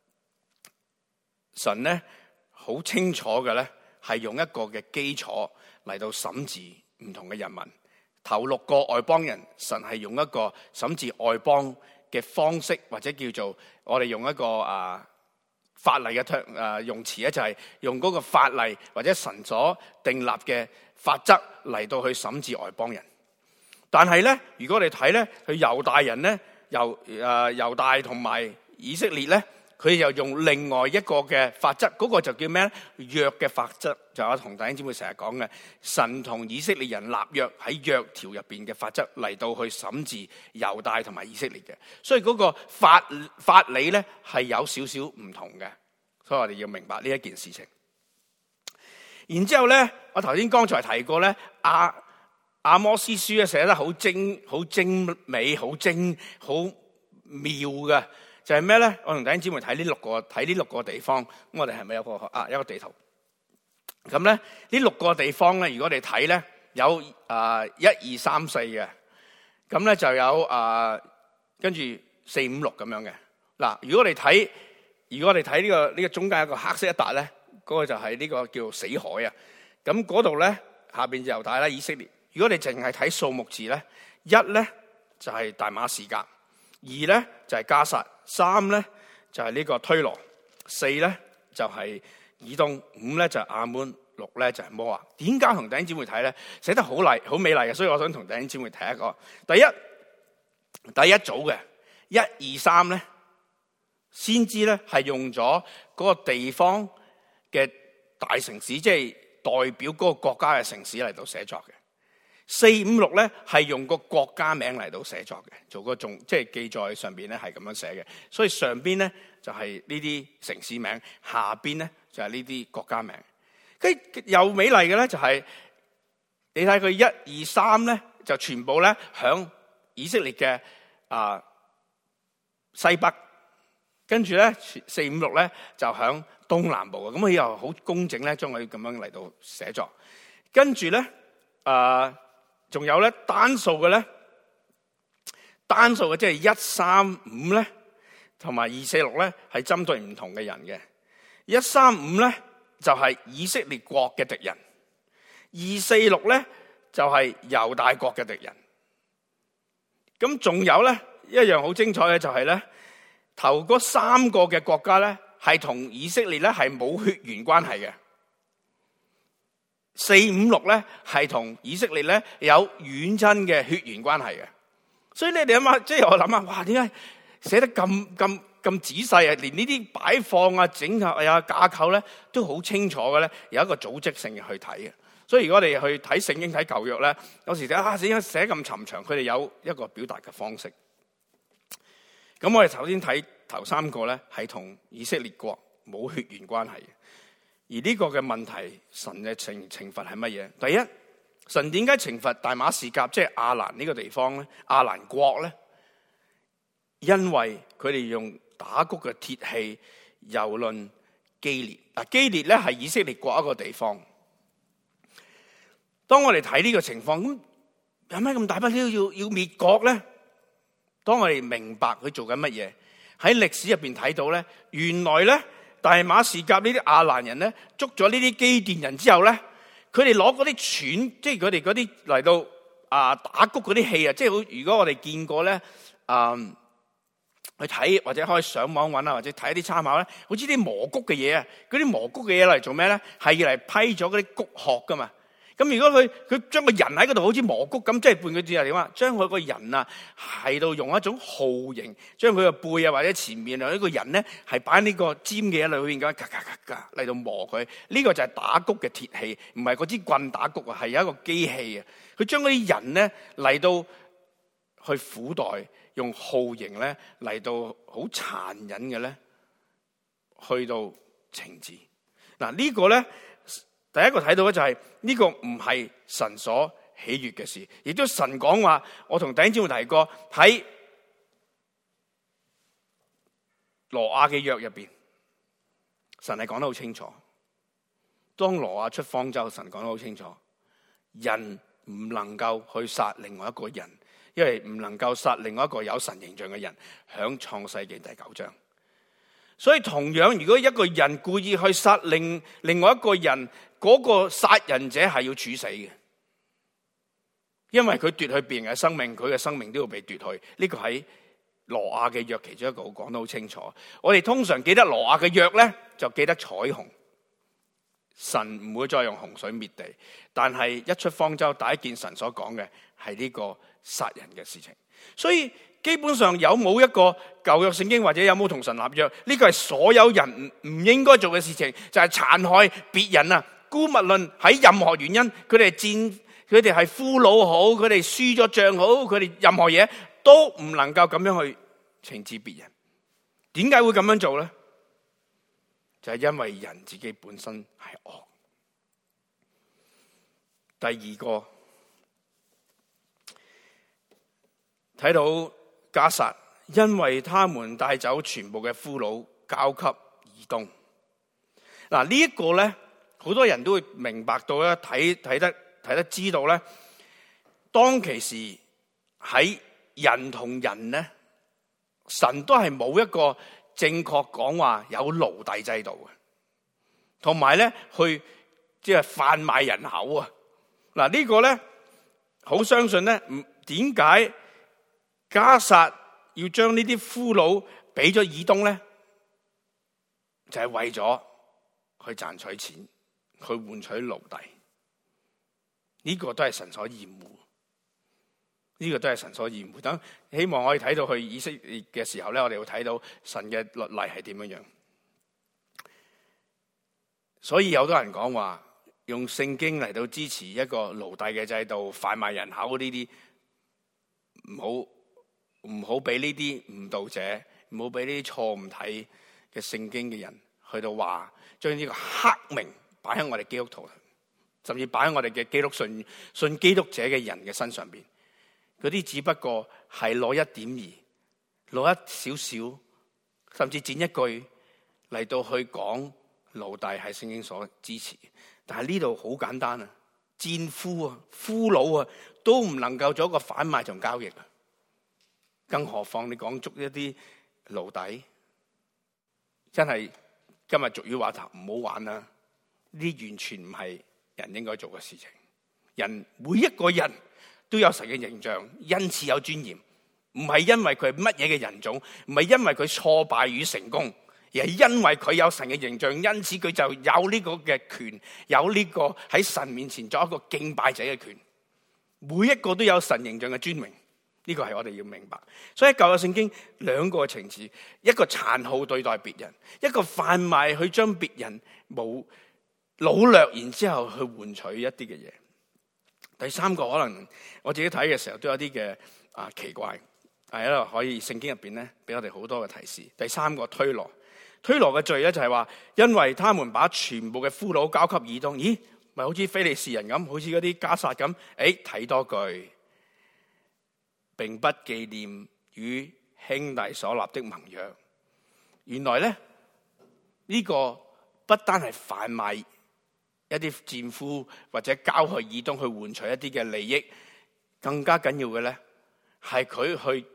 神咧好清楚嘅咧係用一個嘅基礎嚟到審治唔同嘅人民。頭六個外邦人，神係用一個審治外邦嘅方式，或者叫做我哋用一個法例嘅用詞咧，就係用嗰個法例或者神所訂立嘅法則嚟到去審治外邦人。但係咧，如果我哋睇咧，佢猶大人咧，猶大同埋以色列咧，佢又用另外一個嘅法則，嗰個就叫咩咧？約嘅法則，就有同弟兄姊妹成日講嘅，神同以色列人立約喺約條入邊嘅法則嚟到去審治猶大同埋以色列嘅，所以嗰個法理咧係有少少唔同嘅，所以我哋要明白呢一件事情。然之後咧，我頭先剛才提過咧，阿摩司書咧寫得好精美、好妙嘅。就係咩咧？我同弟兄姊妹睇呢六個地方，咁我哋係咪有一個地圖？咁咧呢六個地方咧，如果我哋睇咧，有1、2、3、4嘅，咁咧就有跟住4、5、6咁樣嘅。嗱，如果我哋睇呢個中間有一個黑色一笪咧，嗰個就係呢個叫死海啊。咁嗰度咧下邊就猶大啦、以色列。如果你淨係睇數目字咧，1咧就係大馬士革，2咧就係迦薩。3咧就係呢個推羅，4咧就係以東，5咧就係亞捫，6咧就係摩押。點解同弟兄姊妹睇咧？寫得好美麗嘅，所以我想同弟兄姊妹睇一個。第一組嘅1、2、3咧，先知咧係用咗嗰個地方嘅大城市，即係代表嗰個國家嘅城市嚟到寫作嘅。4、5、6咧係用個國家名嚟到寫作嘅，做個即係記載上邊咧係咁樣寫嘅。所以上邊咧就係呢啲城市名，下邊咧就係呢啲國家名。跟又美麗嘅咧就係你睇佢1、2、3咧就全部咧響以色列嘅西北，跟住咧4、5、6咧就響東南部嘅。咁佢又好工整咧，將佢咁樣嚟到寫作。跟住咧仲有咧單數嘅即係1、3、5咧，同埋2、4、6咧係針對唔同嘅人嘅。1、3、5咧就係以色列國嘅敵人；246咧就係猶大國嘅敵人。咁仲有咧一樣好精彩嘅就係咧，頭嗰3個嘅國家咧係同以色列咧係冇血緣關係嘅。4、5、6咧係同以色列咧有遠親嘅血緣關係嘅。所以你哋諗下，即係我諗下，哇！點解寫得咁仔細啊？連呢啲擺放啊、整合啊、架構咧，都好清楚嘅咧，有一個組織性嘅去睇嘅。所以如果我哋去睇聖經、睇舊約咧，有時寫寫咁尋長，佢哋有一個表達嘅方式。咁我哋首先睇頭3個咧，係同以色列國冇血緣關係嘅。而呢個嘅問題，神嘅懲罰係乜嘢？第一，神點解懲罰大馬士革，即係亞蘭呢個地方咧？亞蘭國咧，因為佢哋用打谷嘅鐵器蹂躪基列。基列咧係以色列國一個地方。當我哋睇呢個情況，咁有咩咁大不了要滅國咧？當我哋明白佢做緊乜嘢，喺歷史入邊睇到咧，原來咧大馬士革呢啲亞蘭人咧捉咗呢啲基甸人之後咧，佢哋攞嗰啲鉗，即係佢哋嗰啲嚟到打谷嗰啲器啊，即係好。如果我哋見過咧，去睇或者可以上網揾啊，或者睇一啲參考咧，好似啲磨谷嘅嘢啊，嗰啲磨谷嘅嘢嚟做咩咧？係要嚟批咗嗰啲谷殼噶嘛。咁如果佢將個人喺嗰度好似磨谷咁，即係換句字係點啊？將佢個人啊係到用一種號形，將佢個背啊或者前面啊呢個人咧係擺喺呢個尖嘅嘢裏邊咁嘎嚟到磨佢。呢個就係打谷嘅鐵器，唔係嗰支棍打谷啊，係有一個機器啊。佢將嗰啲人咧嚟到去苦待，用號形咧嚟到好殘忍嘅咧，去到懲治。嗱呢個咧。第一個睇到嘅就係呢個唔係神所喜悅嘅事，亦都神講話，我同弟兄姊妹提過喺挪亞嘅約入邊，神係講得好清楚。當挪亞出方舟，神講得好清楚，人唔能夠去殺另外一個人，因為唔能夠殺另外一個有神形象嘅人，響創世記第9章。所以同樣，如果一個人故意去殺另外一個人，嗰個殺人者係要處死嘅，因為佢奪去別人嘅生命，佢嘅生命都要被奪去。呢個喺挪亞嘅約其中一個講得好清楚。我哋通常記得挪亞嘅約咧，就記得彩虹，神唔會再用洪水滅地。但係一出方舟，第一件神所講嘅係呢個殺人嘅事情。所以基本上有冇一個舊約聖經或者有冇同神立約，呢個係所有人唔應該做嘅事情，就係殘害別人啊！姑勿論喺任何原因，佢哋係俘虜好，佢哋輸咗仗好，佢哋任何嘢都唔能夠咁樣去懲治別人。點解會咁樣做咧？就係因為人自己本身係惡。第二個睇到迦薩，因為他們帶走全部嘅俘虜，交給以東。嗱呢一個咧。好多人都會明白到咧，睇得知道咧，當其時喺人同人咧，神都係冇一個正確講話有奴隸制度嘅，同埋咧去即係販賣人口啊！嗱呢個咧好相信咧，點解迦薩要將呢啲俘虜俾咗以東咧？就係為咗去賺取錢。去換取奴隸，呢個都係神所厭惡，呢個都係神所厭惡。等希望我哋睇到去以色列嘅時候咧，我哋會睇到神嘅律例係點樣樣。所以有好多人講話用聖經嚟到支持一個奴隸嘅制度、販賣人口呢啲，唔好俾呢啲誤導者，唔好俾呢啲錯誤睇嘅聖經嘅人去到話將呢個黑名擺喺我哋基督徒，甚至擺喺我哋嘅基督信基督者嘅人嘅身上邊，嗰啲只不過係攞一點二，攞一少少，甚至剪一句嚟到去講奴隸係聖經所支持。但係呢度好簡單啊，戰俘啊、俘虜啊，都唔能夠做一個販賣同交易啊，更何況你講捉一啲奴隸，真係今日俗語話頭唔好玩啊！ 呢啲完全唔係人應該做嘅事情。人每一個人都有神嘅形象，因此有尊嚴，唔係因為佢係乜嘢嘅人種，唔係因為佢挫敗與成功，而係因為佢有神嘅形象，因此佢就有呢個嘅權，有呢個喺神面前作一個敬拜者嘅權。每一個都有神形象嘅尊榮，呢個係我哋要明白。所以喺舊約聖經兩個情節，一個殘酷對待別人，一個販賣去將別人冇擄掠，然之後去換取一啲嘅嘢。第三個可能我自己睇嘅時候都有啲嘅奇怪，係一個可以聖經入邊咧俾我哋好多嘅提示。第三個推羅嘅罪咧就係話，因為他們把全部嘅俘虜交給以東，咦，咪好似非利士人咁，好似嗰啲迦薩咁。睇多句，並不紀念與兄弟所立的盟約。原來咧呢個不單係販賣一啲戰俘或者交去以東去換取一啲嘅利益，更加緊要嘅咧係佢去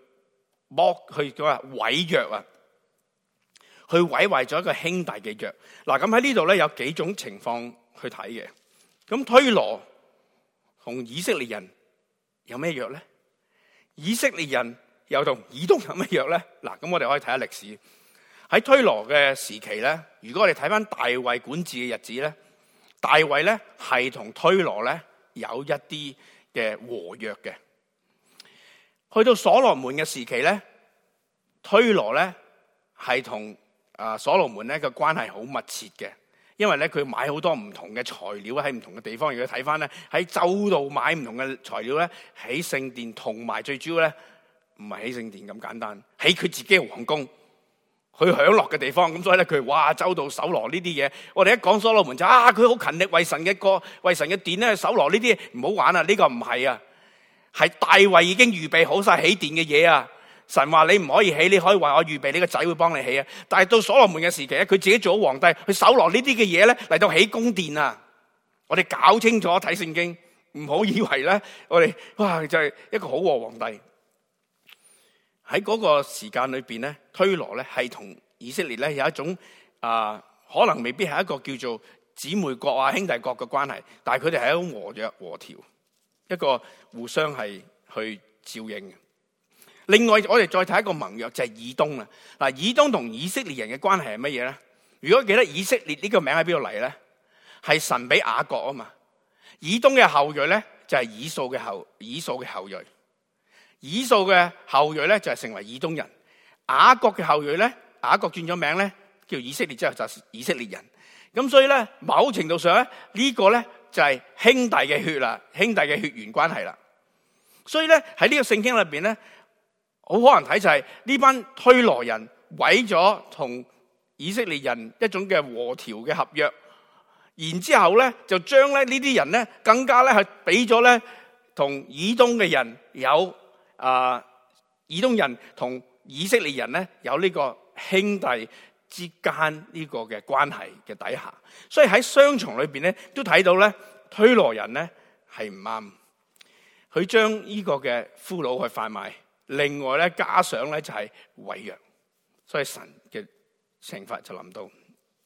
毀約啊，去毀壞咗一個兄弟嘅約。嗱，咁喺呢度咧有幾種情況去睇嘅。咁推羅同以色列人有咩約咧？以色列人又同以東有咩約咧？嗱，咁我哋可以睇下歷史。喺推羅嘅時期咧，如果我哋睇翻大衛管治嘅日子咧，大衛咧係同推羅咧有一啲嘅和約嘅。去到所羅門嘅時期咧，推羅咧係同所羅門咧嘅關係好密切嘅，因為咧佢買好多唔同嘅材料喺唔同嘅地方。如果睇翻咧喺州度買唔同嘅材料咧，起聖殿，同埋最主要咧唔係起聖殿咁簡單，起佢自己嘅皇宮，去享樂嘅地方。咁所以咧佢哇州度搜羅呢啲嘢。我哋一講所羅門就佢好勤力為神嘅殿咧搜羅呢啲嘢，唔好玩啊！呢個唔係啊，係大衛已經預備好晒起殿嘅嘢啊。神話你唔可以起，你可以話我預備你個仔會幫你起啊。但係到所羅門嘅時期咧，佢自己做咗皇帝，去搜羅呢啲嘅嘢咧嚟到起宮殿啊。我哋搞清楚睇聖經，唔好以為咧我哋哇就係一個好和皇帝。喺嗰個時間裏邊咧，推羅咧係同以色列咧有一種可能未必係一個叫做姊妹國啊兄弟國嘅關係，但係佢哋係一種和約和調，一個互相係去照應嘅。另外我哋再睇一個盟約就係以東啦。嗱，以東同以色列人嘅關係係乜嘢咧？如果記得以色列呢個名喺邊度嚟咧？係神俾雅各啊嘛。以東嘅後裔咧就係以掃嘅後裔。以掃嘅後裔咧就係成為以東人。雅各嘅後裔咧，雅各轉咗名咧叫以色列之後就係以色列人。咁所以咧某程度上咧呢個咧就係兄弟嘅血啦，兄弟嘅血緣關係啦。所以咧喺呢個聖經裏邊咧，好可能睇就係呢班推羅人毀咗同以色列人一種嘅和調嘅合約，然之後咧就將咧呢啲人咧更加咧係俾咗咧同以東嘅人有以東人同以色列人咧有呢個兄弟之間呢個嘅關係嘅底下。所以喺雙重裏邊咧都睇到咧推羅人咧係唔啱，佢將呢個嘅俘虜去販賣。另外咧，加上咧就係毀約，所以神嘅懲罰就臨到。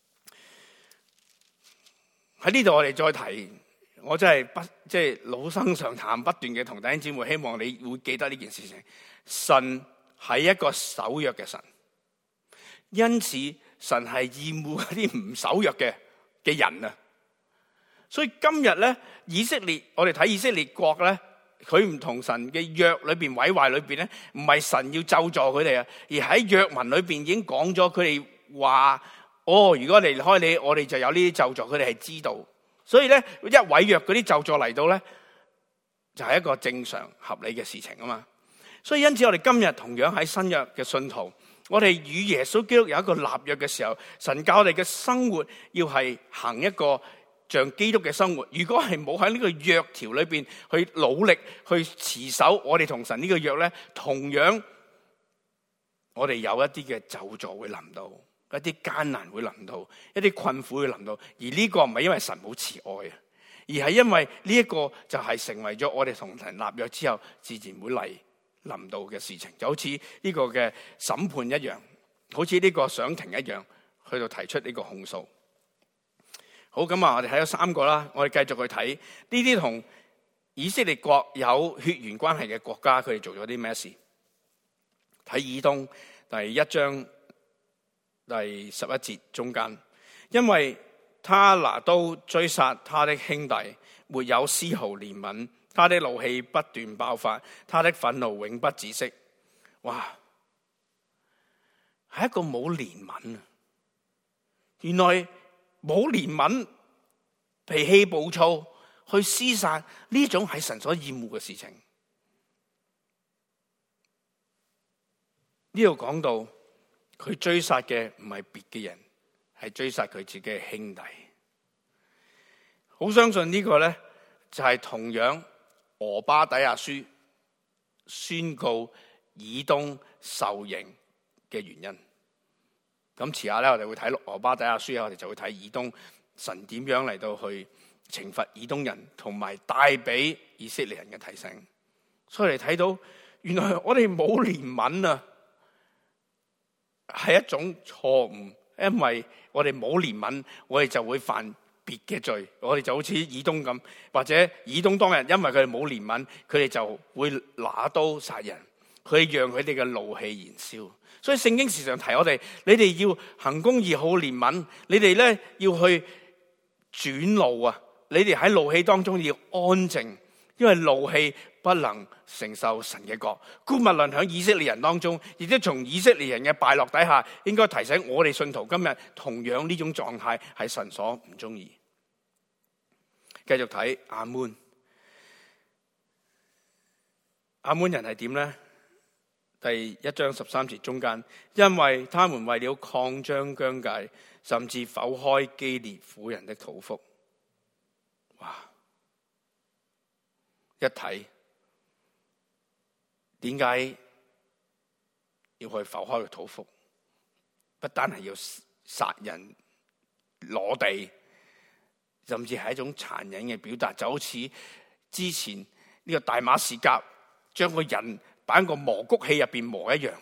喺呢度我哋再提，我真係老生常談，不斷嘅同弟兄姊妹，希望你會記得呢件事情。神係一個守約嘅神，因此神係厭惡嗰啲唔守約嘅人啊。所以今日咧，以色列，我哋睇以色列國咧。佢唔同神嘅約裏邊毀壞裏邊咧，唔係神要咒詛佢哋啊，而喺約文裏邊已經講咗，佢哋話如果離開你，我哋就有呢啲咒詛，佢哋係知道。所以咧一毀約嗰啲咒詛嚟到咧，就係一個正常合理嘅事情啊嘛。所以因此我哋今日同樣喺新約嘅信徒，我哋與耶穌基督有一個立約嘅時候，神教我哋嘅生活要係行一個像基督嘅生活。如果係冇喺呢個約條裏邊去努力去持守我哋同神呢個約咧，同樣我哋有一啲嘅咒詛會臨到，一啲艱難會臨到，一啲困苦會臨到。而呢個唔係因為神冇慈愛啊，而係因為呢一個就係成為咗我哋同神立約之後自然會臨到嘅事情。就好似呢個嘅審判一樣，好似呢個上庭一樣，去到提出呢個控訴。 好，咁啊，我哋睇咗3個啦，我哋繼續去睇呢啲同以色列國有血緣關係嘅國家，佢哋做咗啲咩事？睇以東第1章第11節中間，因為他拿刀追殺他的兄弟，沒有絲毫憐憫，他的怒氣不斷爆發，他的憤怒永不止息。哇，係一個冇憐憫啊！原來冇憐憫、脾氣暴躁去廝殺，呢種係神所厭惡嘅事情。呢度講到佢追殺嘅唔係別嘅人，係追殺佢自己嘅兄弟。好相信呢個咧就係同樣俄巴底亞書宣告以東受刑嘅原因。咁遲下咧，我哋會睇俄巴底亞書，我哋就會睇以東神點樣嚟到去懲罰以東人，同埋帶俾以色列人嘅提醒。所以你睇到原來我哋冇憐憫啊，係一種錯誤，因為我哋冇憐憫，我哋就會犯別嘅罪。我哋就好似以東咁，或者以東當日因為佢哋冇憐憫，佢哋就會拿刀殺人，佢讓佢哋嘅怒氣燃燒。所以聖經時常提我哋，你哋要行公義、好憐憫，你哋咧要去轉怒啊！你哋喺怒氣當中要安靜，因為怒氣不能承受神嘅國。姑勿論喺以色列人當中，亦都從以色列人嘅敗落底下，應該提醒我哋信徒今日同樣呢種狀態係神所唔中意。繼續睇亞捫，亞捫人係點呢？第1章13節中間，因為他們為了擴張疆界，甚至剖開基列婦人的肚腹。哇！一睇點解要去剖開個肚腹？不單係要殺人攞地，甚至係一種殘忍嘅表達，就好似之前呢個大馬士革將個人擺喺個磨谷器入邊磨一樣。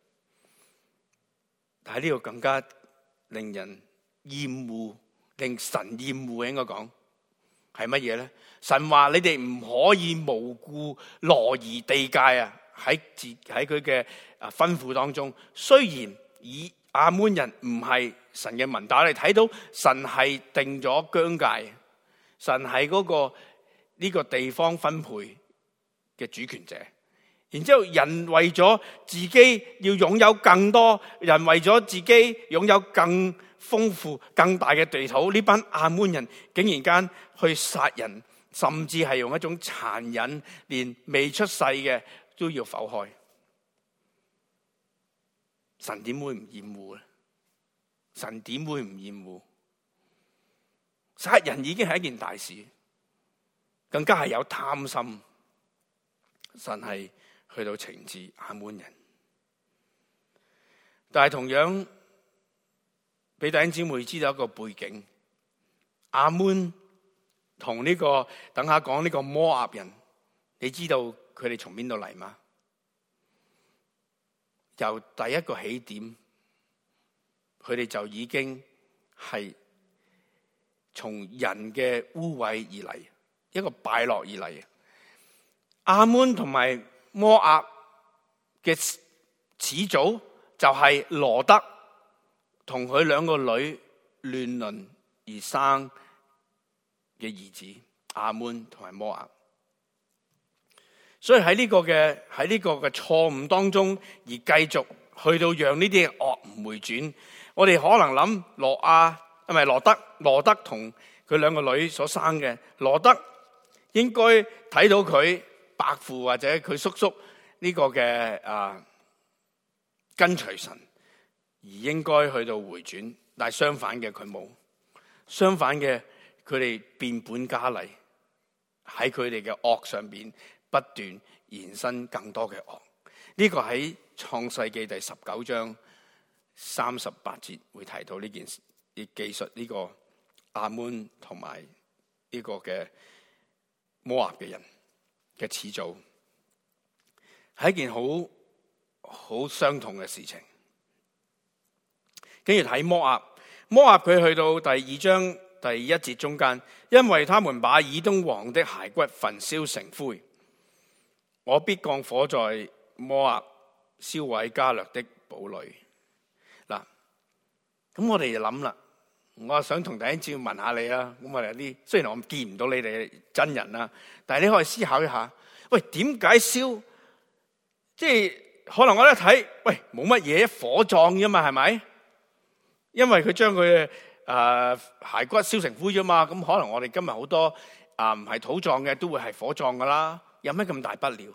但係呢個更加令人厭惡，令神厭惡，應該講係乜嘢咧？神話你哋唔可以無故挪移地界啊！喺佢嘅吩咐當中，雖然以亞捫人唔係神嘅民，但係我哋睇到神係定咗疆界，神係嗰個呢個地方分配嘅主權者。然之後，人為咗自己要擁有更多，人為咗自己擁有更豐富、更大嘅地土，呢班亞捫人竟然間去殺人，甚至係用一種殘忍，連未出世嘅都要剖開。神點會唔厭惡咧？神點會唔厭惡？殺人已經係一件大事，更加係有貪心。神係去到懲治亞捫人，但係同樣俾弟兄姊妹知道一個背景，亞捫同呢個等下講呢個摩押人，你知道佢哋從邊度嚟嗎？由第一個起點，佢哋就已經係從人嘅污穢而嚟，一個敗落而嚟。亞捫同埋摩押嘅始祖就係羅德同佢兩個女亂倫而生嘅兒子亞捫同埋摩押。所以喺呢個嘅錯誤當中，而繼續去到讓呢啲惡唔回轉。我哋可能諗羅德同佢兩個女所生嘅羅德，應該睇到佢伯父或者佢叔叔呢個嘅跟隨神，而應該去到回轉。但係相反嘅佢冇，相反嘅佢哋變本加厲，喺佢哋嘅惡上邊不斷延伸更多嘅惡。呢個喺創世記第19章38節會提到呢件事，亦記述呢個亞捫同埋呢個嘅摩押嘅人嘅始祖，係一件好傷痛嘅事情。跟住睇摩押佢去到第2章第1節中間，因為他們把以東王的骸骨焚燒成灰，我必降火在摩押，燒毀加略的堡壘。嗱，咁我哋就諗啦，我想同弟兄姊妹問下你啦。咁我哋有啲，雖然我見唔到你哋真人啦，但係你可以思考一下，喂，點解燒？即係可能我一睇，喂，冇乜嘢，火葬啫嘛，係咪？因為佢將佢骸骨燒成灰啫嘛，咁可能我哋今日好多唔係土葬嘅都會係火葬噶啦，有咩咁大不了？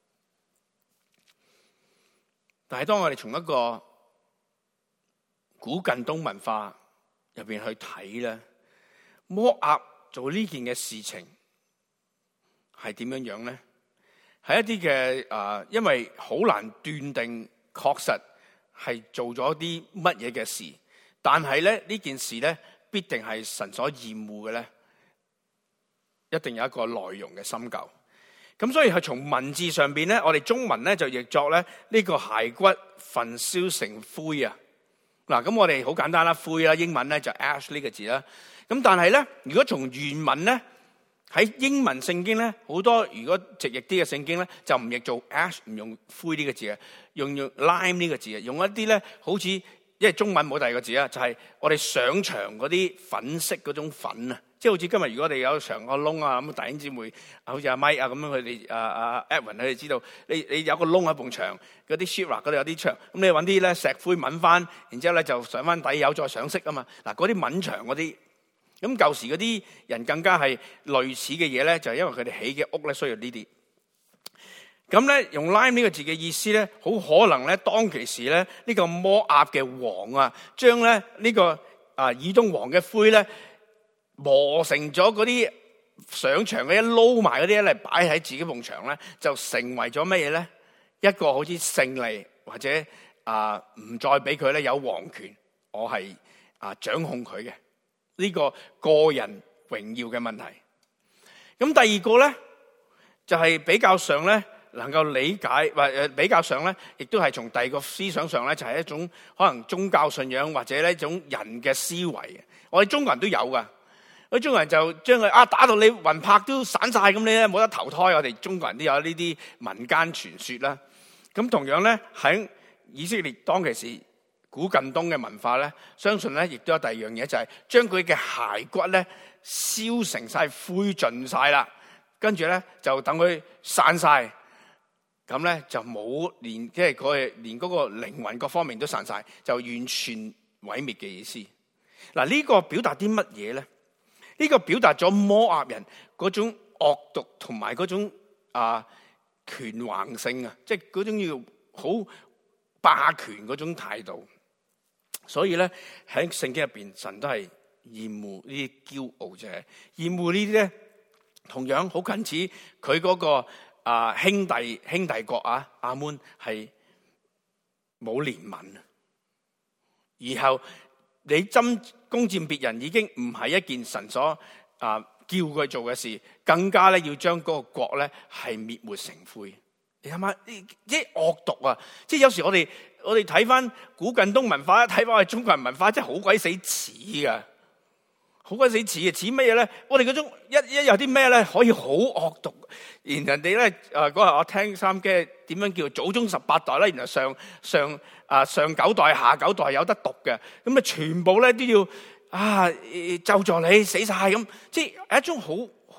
但係當我哋從一個古近東文化入邊去睇咧，摩押做呢件嘅事情係點樣樣咧？係一啲嘅因為好難斷定確實係做咗啲乜嘢嘅事，但係咧呢件事咧必定係神所厭惡嘅咧，一定有一個內容嘅深究。咁所以係從文字上邊咧，我哋中文咧就譯作咧呢個骸骨焚燒成灰啊。嗱，咁我哋好簡單啦，灰啦，英文咧就 ash 呢個字啦。咁但係咧，如果從原文咧，喺英文聖經咧，好多如果直譯啲嘅聖經咧，就唔譯做 ash， 唔用灰呢個字嘅，用 lime 呢個字嘅，用一啲咧好似，因為中文冇第二個字啊，就係我哋上牆嗰啲粉色嗰種粉啊，即係好似今日如果我哋有牆個窿啊，咁弟兄姊妹好似阿 Mike 啊咁樣，佢哋阿 Edwin 佢哋知道，你有個窿喺埲牆嗰啲 sheetrock 嗰度有啲牆，咁你揾啲咧石灰抿翻，然之後咧就上翻底油再上色啊嘛，嗱嗰啲抿牆嗰啲。咁舊時嗰啲人更加係類似嘅嘢咧，就係因為佢哋起嘅屋咧需要呢啲。咁咧用 lime 呢個字嘅意思咧，好可能咧當其時咧呢個摩押嘅王啊，將咧呢個以東王嘅灰咧磨成咗嗰啲上牆嗰啲撈埋嗰啲嚟擺喺自己埲牆咧，就成為咗乜嘢咧？一個好似勝利或者唔再俾佢咧有皇權，我係掌控佢嘅。呢個個人榮耀嘅問題。咁第二個咧，就係比較上咧能夠理解，或比較上咧，亦都係從第二個思想上咧，就係一種可能宗教信仰或者呢一種人嘅思維。我哋中國人都有噶，我哋中國人就將佢打到你魂魄都散晒，咁你咧冇得投胎。我哋中國人都有呢啲民間傳說啦。咁同樣咧喺以色列當其時，古近東嘅文化咧，相信咧亦都有第二樣嘢，就係將佢嘅骸骨咧燒成晒灰盡晒啦，跟住咧就等佢散晒，咁咧就冇連即係佢連嗰個靈魂各方面都散晒，就完全毀滅嘅意思。嗱，呢個表達啲乜嘢咧？呢個表達咗摩押人嗰種惡毒同埋嗰種權橫性啊，即係嗰種要好霸權嗰種態度。所以咧喺聖經入邊，神都係厭惡呢啲驕傲者，厭惡呢啲咧同樣好近似佢嗰個兄弟國亞捫係冇憐憫，然後你攻佔別人已經唔係一件神所叫佢做嘅事，更加咧要將嗰個國咧係滅沒成灰。你諗下，即係惡毒啊！即係有時我哋睇翻古近東文化，睇翻我哋中國人文化，真係好鬼死似噶，好鬼死似嘅。似乜嘢咧？我哋嗰種一有啲咩咧，可以好惡毒。然人哋咧嗰日我聽收音機點樣叫祖宗18代咧，然後上9代下9代有得讀嘅，咁啊全部咧都要咒詛你死晒咁，即係一種好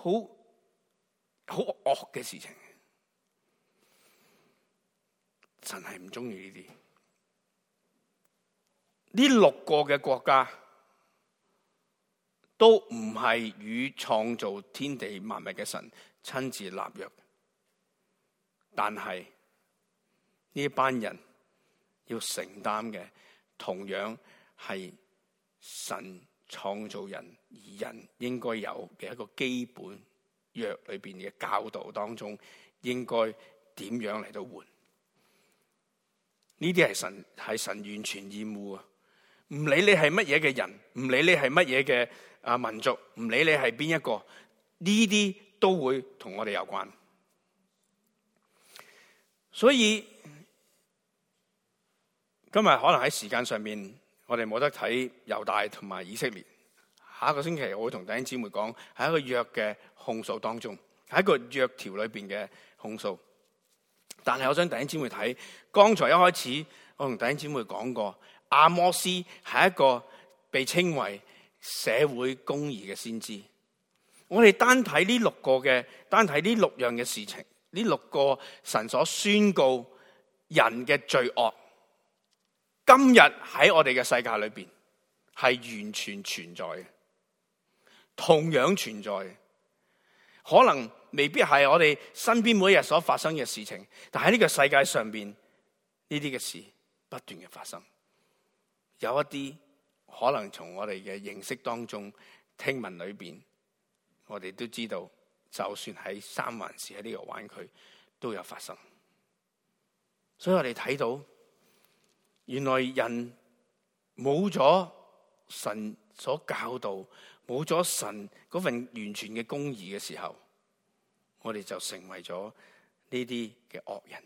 惡嘅事情。神係唔中意呢啲。呢6個嘅國家都唔係與創造天地萬物嘅神親自立約，但係呢班人要承擔嘅同樣係神創造人而人應該有嘅一個基本約裏邊嘅教導當中，應該點樣嚟到活？呢啲係神完全厭惡啊！唔理你係乜嘢嘅人，唔理你係乜嘢嘅民族，唔理你係邊一個，呢啲都會同我哋有關。所以今日可能喺時間上面，我哋冇得睇猶大同埋以色列， 下一個星期我會同弟兄姊妹講，喺一個約嘅控訴當中，喺一個約條裏邊嘅控訴。但係我想弟兄姊妹睇，剛才一開始我同弟兄姊妹講過，阿摩司係一個被稱為社會公義嘅先知。我哋單睇呢6樣嘅事情，呢6個神所宣告人嘅罪惡，今日喺我哋嘅世界裏邊係完全存在嘅，同樣存在嘅。可能未必係我哋身邊每一日所發生嘅事情，但喺呢個世界上邊呢啲嘅事不斷嘅發生。有一啲可能從我哋嘅認識當中、聽聞裏邊，我哋都知道，就算喺三藩市喺呢個灣區都有發生。所以我哋睇到，原來人冇咗神所教導，冇咗神嗰份完全嘅公義嘅時候，我哋就成為咗呢啲嘅惡人。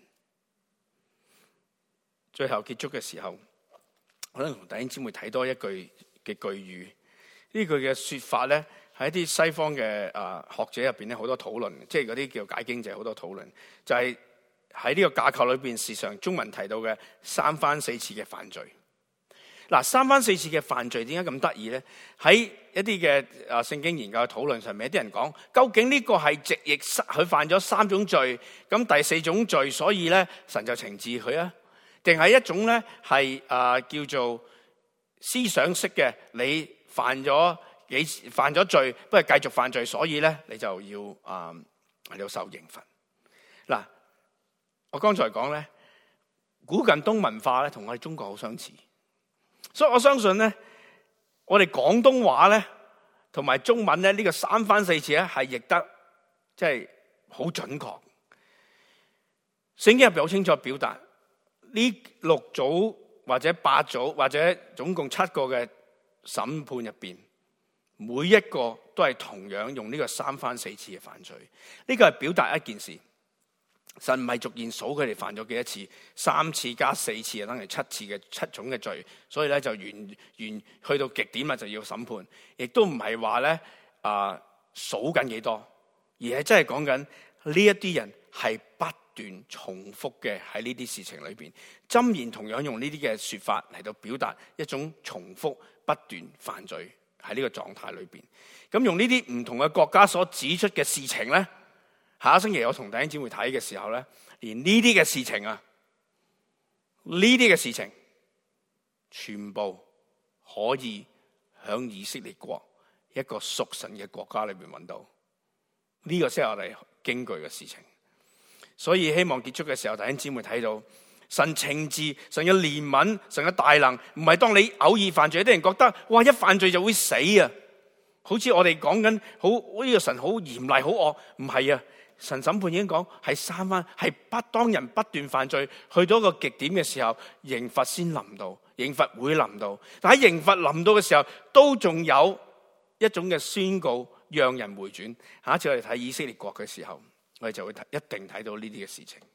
最後結束嘅時候，我想同弟兄姊妹睇多一句嘅句語。呢句嘅說法咧，喺一啲西方嘅學者入邊咧，好多討論，即係嗰啲叫解經者好多討論，就係喺呢個架構裏邊，時常中文提到嘅3番4次嘅犯罪。嗱，3番4次嘅犯罪點解咁得意咧？喺一啲嘅聖經研究嘅討論上面，有啲人講，究竟呢個係直譯佢犯咗3種罪，咁第4種罪，所以咧神就懲治佢啊？定係一種咧係叫做思想式嘅，你犯咗罪，不過繼續犯罪，所以咧你就要受刑罰。嗱，我剛才講咧，古近東文化咧同我哋中國好相似。所以我相信咧，我哋廣東話咧同埋中文咧呢個3番4次咧係譯得即係好準確。聖經入邊好清楚表達呢6組或者8組或者總共7個嘅審判入邊，每一個都係同樣用呢個3番4次嘅犯罪。呢個係表達一件事。神唔係逐漸數佢哋犯咗幾多次，3次加4次啊，等於7次嘅7種嘅罪，所以咧就完去到極點啦，就要審判。亦都唔係話咧數緊幾多，而係真係講緊呢一啲人係不斷重複嘅喺呢啲事情裏邊。箴言同樣用呢啲嘅說法嚟到表達一種重複不斷犯罪喺呢個狀態裏邊。咁用呢啲唔同嘅國家所指出嘅事情咧。下一星期我同弟兄姊妹睇嘅時候咧，連呢啲嘅事情啊，呢啲嘅事情，全部可以響以色列國一個屬神嘅國家裏邊揾到，呢個先係我哋驚懼嘅事情。所以希望結束嘅時候，弟兄姊妹睇到神懲治、神嘅憐憫、神嘅大能，唔係當你偶爾犯罪，有啲人覺得哇一犯罪就會死啊，好似我哋講緊好呢個神好嚴厲、好惡，唔係啊。神審判已經講係3番，係當人不斷犯罪去到一個極點嘅時候，刑罰先臨到，刑罰會臨到。但喺刑罰臨到嘅時候，都仲有一種嘅宣告，讓人回轉。下一次我哋睇以色列國嘅時候，我哋就會一定睇到呢啲嘅事情。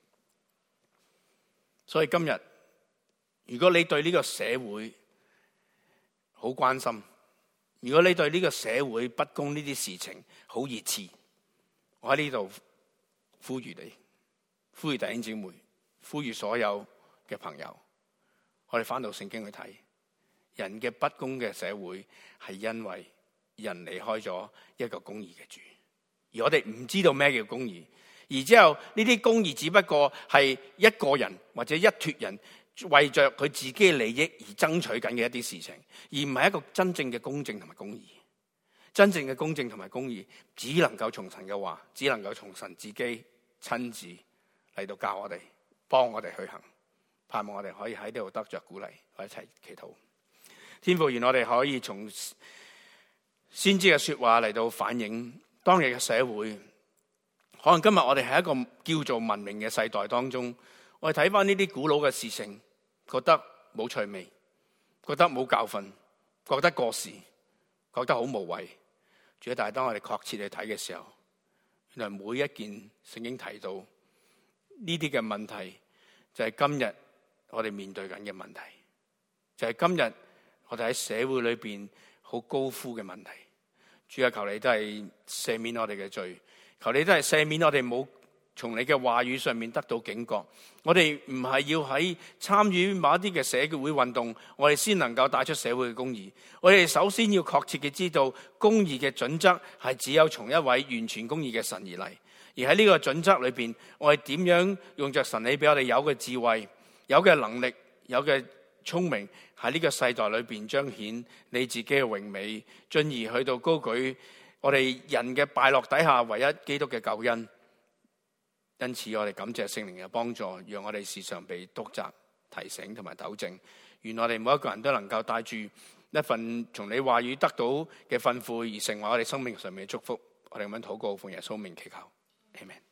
所以今日，如果你對呢個社會好關心，如果你對呢個社會不公呢啲事情好熱切，我喺呢度呼籲你，呼籲弟兄姊妹，呼籲所有嘅朋友，我哋翻到聖經去睇，人嘅不公嘅社會係因為人離開咗一個公義嘅主，而我哋唔知道咩叫公義，而之後呢啲公義只不過係一個人或者一撮人為着佢自己嘅利益而爭取緊嘅一啲事情，而唔係一個真正嘅公正同埋公義。真正嘅公正同埋公義，只能夠從神嘅話，只能夠從神自己親自嚟到教我哋，幫我哋去行。盼望我哋可以喺呢度得着鼓勵，我一齊祈禱。天父，願我哋可以從先知嘅說話嚟到反映當日嘅社會。可能今日我哋喺一個叫做文明嘅世代當中，我哋睇翻呢啲古老嘅事情，覺得冇趣味，覺得冇教訓，覺得過時，覺得好無謂。但係當我哋確切去睇嘅時候，原來每一件聖經提到呢啲嘅問題，就係今日我哋面對緊嘅問題，就係今日我哋喺社會裏邊好高呼嘅問題， 主啊，求你都係赦免我哋嘅罪，求你都係赦免我哋冇從你嘅話語上面得到警覺。我哋唔係要喺參與某一啲嘅社會運動，我哋先能夠帶出社會嘅公義。我哋首先要確切嘅知道，公義嘅準則係只有從一位完全公義嘅神而嚟。而喺呢個準則裏邊，我哋點樣用着神你俾我哋有嘅智慧、有嘅能力、有嘅聰明，喺呢個世代裏邊彰顯你自己嘅榮美，進而去到高舉我哋人嘅敗落底下唯一基督嘅救恩。因此我哋感謝聖靈嘅幫助，讓我哋時常被督責、提醒同埋糾正。願我哋每一個人都能夠帶住一份從你話語得到嘅吩咐，而成為我哋生命上面嘅祝福。我哋咁樣禱告，奉耶穌名祈求，阿們。